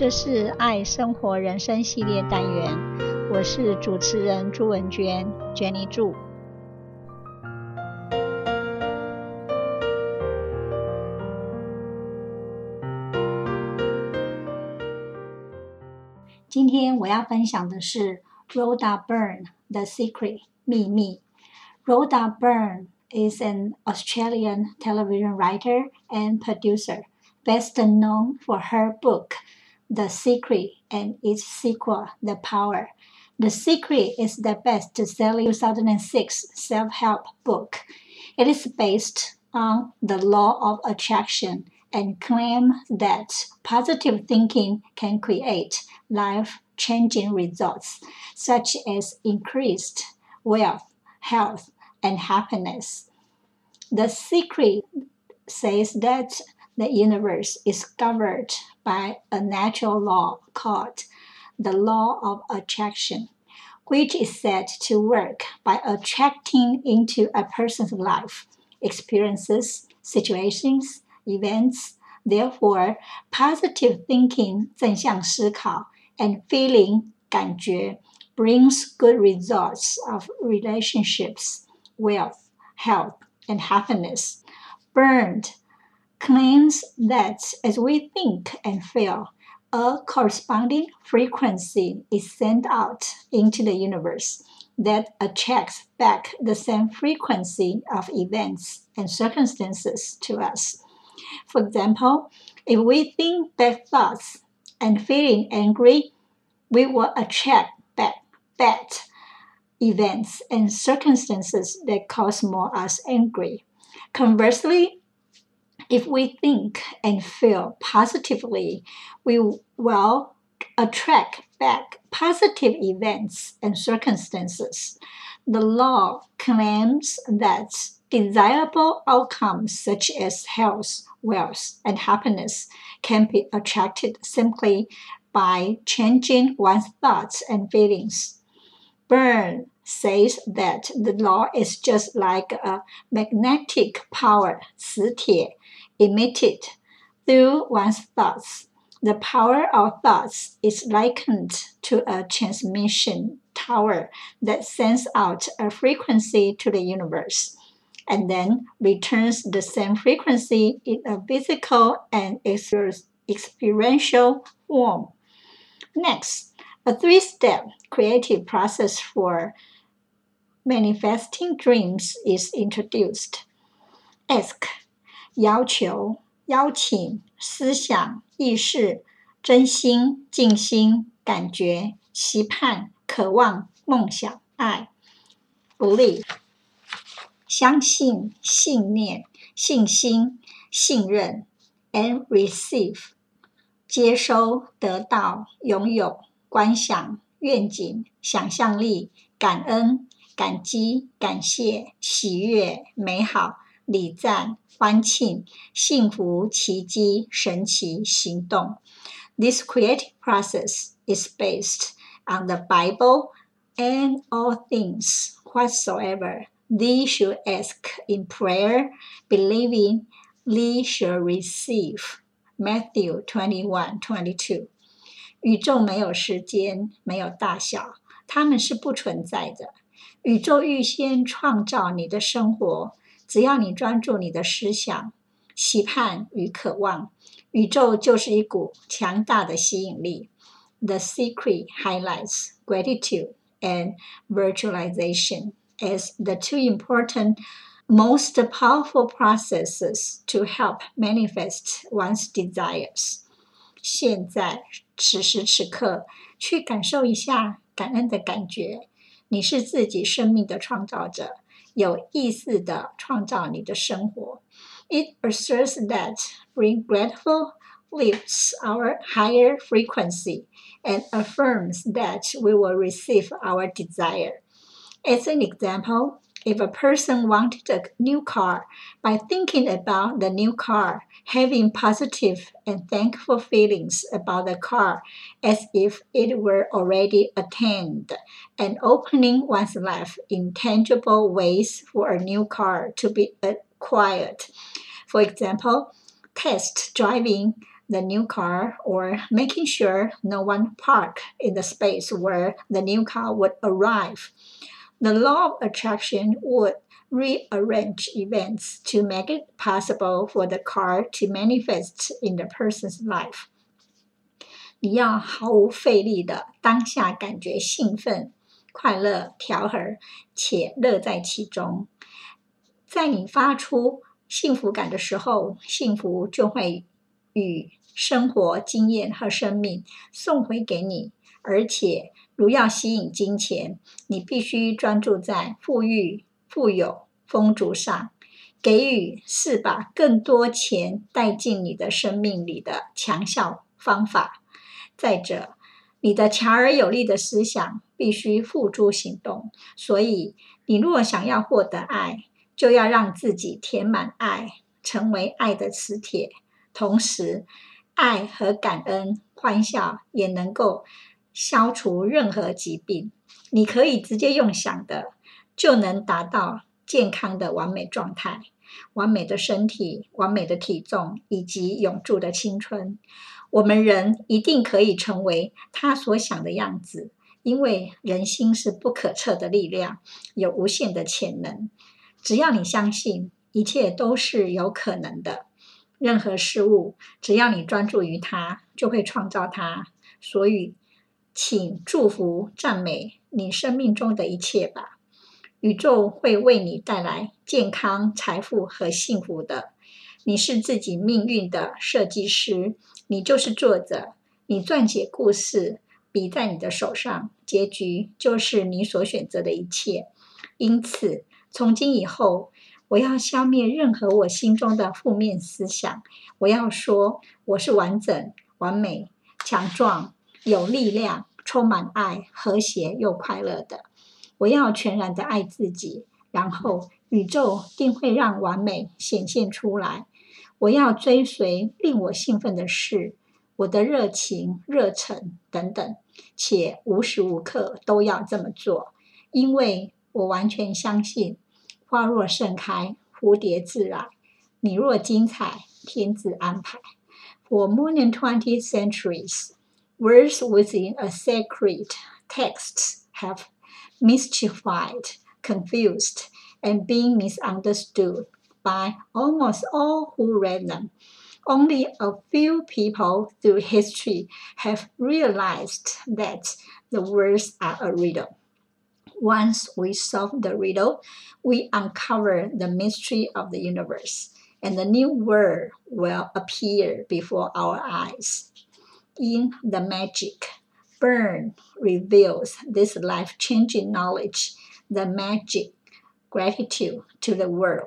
這是愛生活人生系列單元，我是主持人朱文娟 Jenny 朱。今天我要分享的是 Rhoda Byrne The Secret 秘密。Rhoda Byrne is an Australian television writer and producer, best known for her book, The Secret, and its sequel, The Power. The Secret is the best-selling 2006 self-help book. It is based on the law of attraction and claims that positive thinking can create life-changing results, such as increased wealth, health, and happiness. The Secret says that the universe is governed by a natural law called the law of attraction, which is said to work by attracting into a person's life experiences, situations, events. Therefore, positive thinking 正向思考 and feeling 感觉 brings good results of relationships, wealth, health, and happiness. Byrne claims that as we think and feel, a corresponding frequency is sent out into the universe that attracts back the same frequency of events and circumstances to us. For example, if we think bad thoughts and feeling angry, we will attract back bad events and circumstances that cause more us angry. Conversely, if we think and feel positively, we will attract back positive events and circumstances. The law claims that desirable outcomes such as health, wealth, and happiness can be attracted simply by changing one's thoughts and feelings. Byrne says that the law is just like a magnetic power, 磁鐵, emitted through one's thoughts. The power of thoughts is likened to a transmission tower that sends out a frequency to the universe and then returns the same frequency in a physical and experiential form. Next, a 3-step creative process for manifesting dreams is introduced. Ask, 要求, 邀請, 思想, 意識, 真心, 靜心, 感覺, 期盼, 渴望, 夢想, 愛. Believe, 相信, 信念, 信心, 信任, and receive, 接收, 得到, 擁有, 觀想, 願景, 想象力, 感恩, 感激, 感謝, 喜悅, 美好, 禮讚, 歡慶, 幸福, 奇蹟, 神奇, 行動. This creative process is based on the Bible and all things whatsoever thee should ask in prayer, believing thee shall receive. Matthew 21:22. 宇宙沒有時間，沒有大小，它們是不存在的。宇宙預先創造你的生活，只要你專注你的思想、期盼與渴望，宇宙就是一股強大的吸引力。The Secret highlights gratitude and visualization as the two important, most powerful processes to help manifest one's desires. 現在，此時此刻，去感受一下感恩的感覺。你是自己生命的創造者，有意識地創造你的生活。It asserts that being grateful lifts our higher frequency and affirms that we will receive our desire. As an example, if a person wanted a new car, by thinking about the new car, having positive and thankful feelings about the car as if it were already attained, and opening one's life in tangible ways for a new car to be acquired. For example, test driving the new car or making sure no one parked in the space where the new car would arrive. The law of attraction would rearrange events to make it possible for the car to manifest in the person's life. 你要毫無費力的當下感覺興奮、快樂、調和，且樂在其中。在你發出幸福感的時候，幸福就會與生活經驗和生命送回給你。而且，如要吸引金錢，你必須專注在富裕、富有、豐足上。給予是把更多錢帶進你的生命裡的強效方法。再者，你的強而有力的思想必須付諸行動。所以，你若想要獲得愛，就要讓自己填滿愛，成為愛的磁鐵。同時，愛和感恩、歡笑也能夠消除任何疾病。你可以直接用想的，就能達到健康的完美狀態，完美的身體、完美的體重以及永駐的青春。我們人一定可以成為他所想的樣子，因為人心是不可測的力量，有無限的潛能。只要你相信，一切都是有可能的。任何事物，只要你專注於它，就會創造它。所以，請祝福、讚美你生命中的一切吧。宇宙會為你帶來健康、財富和幸福的。你是自己命運的設計師，你就是作者。你撰寫故事，筆在你的手上，結局就是你所選擇的一切。因此，從今以後，我要消滅任何我心中的負面思想。我要說，我是完整、完美、強壯、有力量、充滿愛、和諧又快樂的。我要全然的愛自己，然後宇宙定會讓完美顯現出來。我要追隨令我興奮的事，我的熱情、熱忱等等，且無時無刻都要這麼做，因為我完全相信，花若盛開，蝴蝶自來；你若精彩，天自安排。For more than 20 centuries, words within a sacred text have mystified, confused, and been misunderstood by almost all who read them. Only a few people through history have realized that the words are a riddle. Once we solve the riddle, we uncover the mystery of the universe, and the new world will appear before our eyes. In the magic, Byrne reveals this life-changing knowledge, the magic gratitude to the world.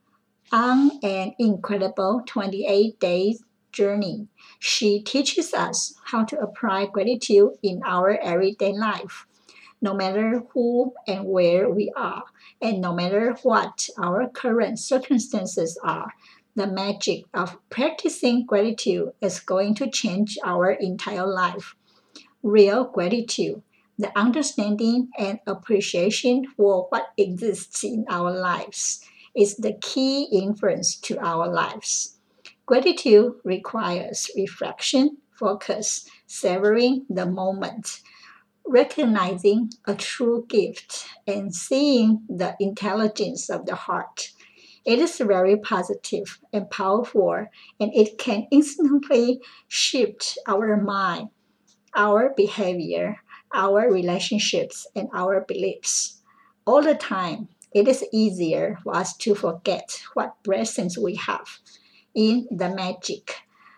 On an incredible 28-day journey, she teaches us how to apply gratitude in our everyday life. No matter who and where we are, and no matter what our current circumstances are, the magic of practicing gratitude is going to change our entire life. Real gratitude, the understanding and appreciation for what exists in our lives, is the key influence to our lives. Gratitude requires reflection, focus, savoring the moment, recognizing a true gift, and seeing the intelligence of the heart. It is very positive and powerful, and it can instantly shift our mind, our behavior, our relationships, and our beliefs. All the time, it is easier for us to forget what blessings we have. In the magic,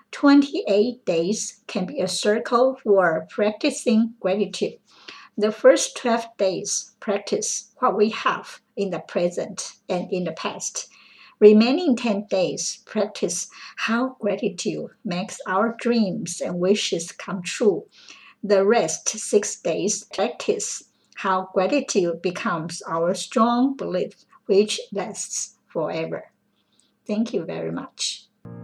28 days can be a circle for practicing gratitude. The first 12 days practice what we have in the present and in the past. Remaining 10 days practice how gratitude makes our dreams and wishes come true. The rest 6 days practice how gratitude becomes our strong belief, which lasts forever. Thank you very much.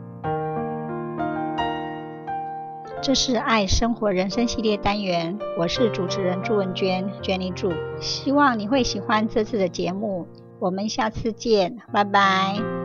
这是愛生活人生系列單元，我是主持人朱文娟 Jenny 朱，希望你會喜歡這次的節目，我們下次見，拜拜。